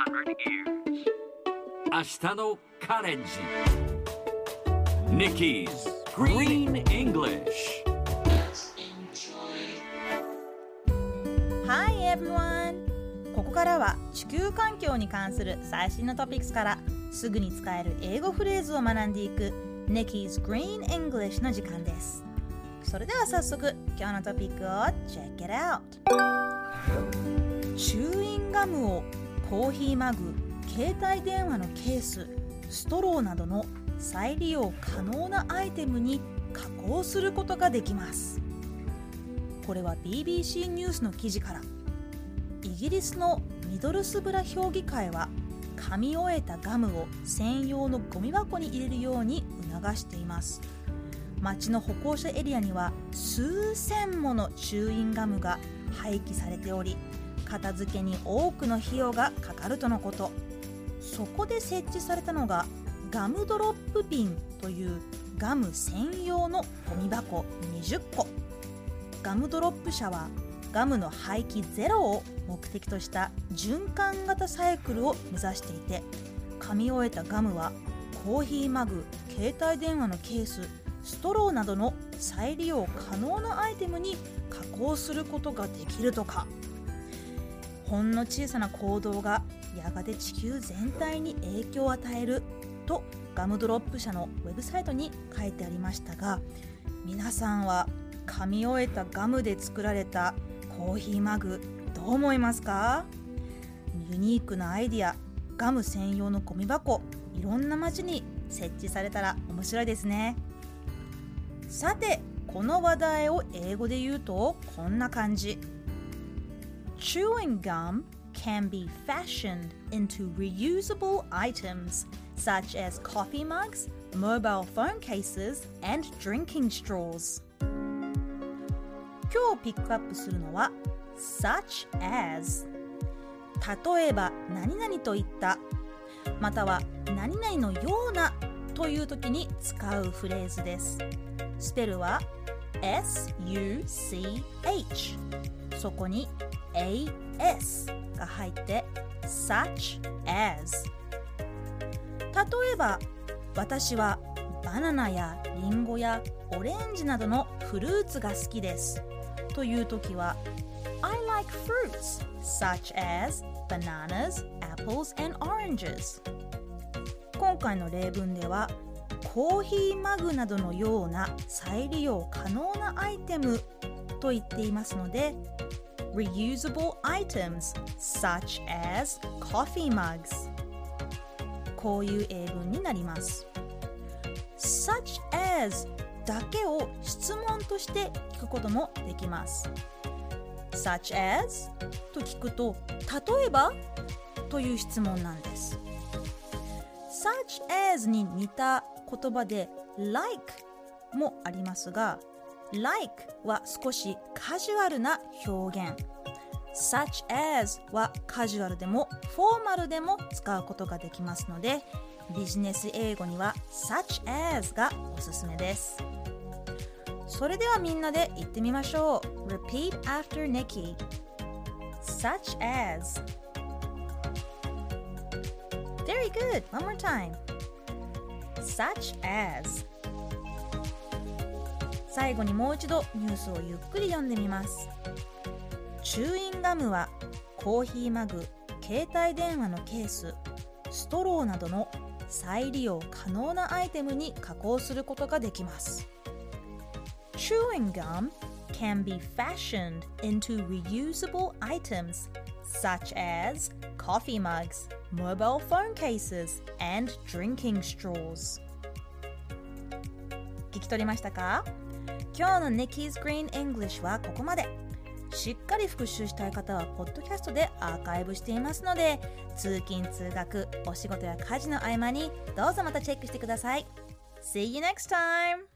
明日のカレンジ Nikki's Green English Hi everyone! ここからは地球環境に関する最新のトピックスからすぐに使える英語フレーズを学んでいく Nikki's Green English の時間です。それでは早速今日のトピックを Check it out! チューインガムをコーヒーマグ、携帯電話のケース、ストローなどの再利用可能なアイテムに加工することができます。これは BBC ニュースの記事から。イギリスのミドルスブラ評議会は噛み終えたガムを専用のゴミ箱に入れるように促しています。街の歩行者エリアには数千ものチューインガムが廃棄されており、片付けに多くの費用がかかるとのこと。そこで設置されたのがガムドロップ瓶というガム専用のゴミ箱20個。ガムドロップ社はガムの廃棄ゼロを目的とした循環型サイクルを目指していて、噛み終えたガムはコーヒーマグ、携帯電話のケース、ストローなどの再利用可能なアイテムに加工することができるとか。ほんの小さな行動がやがて地球全体に影響を与えるとガムドロップ社のウェブサイトに書いてありましたが、皆さんは噛み終えたガムで作られたコーヒーマグどう思いますか？ユニークなアイディア、ガム専用のゴミ箱、いろんな街に設置されたら面白いですね。さて、この話題を英語で言うとこんな感じ。Chewing gum can be fashioned into reusable items such as coffee mugs, mobile phone cases, and drinking straws. 今日ピックアップするのは such as 例えば何々といったまたは何々のようなという時に使うフレーズです。スペルは S-U-C-H そこに A-S が入ってsuch as。 例えば私はバナナやリンゴやオレンジなどのフルーツが好きですというときは I like fruits such as bananas, apples, and oranges。 今回の例文ではコーヒーマグなどのような再利用可能なアイテムと言っていますので reusable items such as coffee mugs。 こういう英文になります。 such as だけを質問として聞くこともできます。 such as と聞くと例えばという質問なんです。 such as に似た言葉で like もありますが like は少しカジュアルな表現。 such as はカジュアルでもフォーマルでも使うことができますのでビジネス英語には such as がおすすめです。それではみんなで言ってみましょう。 Repeat after Nikki. Such as. Very good. One more time. Such as. 最後にもう一度ニュースをゆっくり読んでみます。チューインガムはコーヒーマグ、携帯電話のケース、ストローなどの再利用可能なアイテムに加工することができます。Chewing gum can be fashioned into reusable items such as coffee mugs, mobile phone cases, and drinking straws. 聞き取りましたか？今日の Nikki's Green English はここまで。しっかり復習したい方はポッドキャストでアーカイブしていますので、通勤通学、お仕事や家事の合間にどうぞまたチェックしてください。See you next time!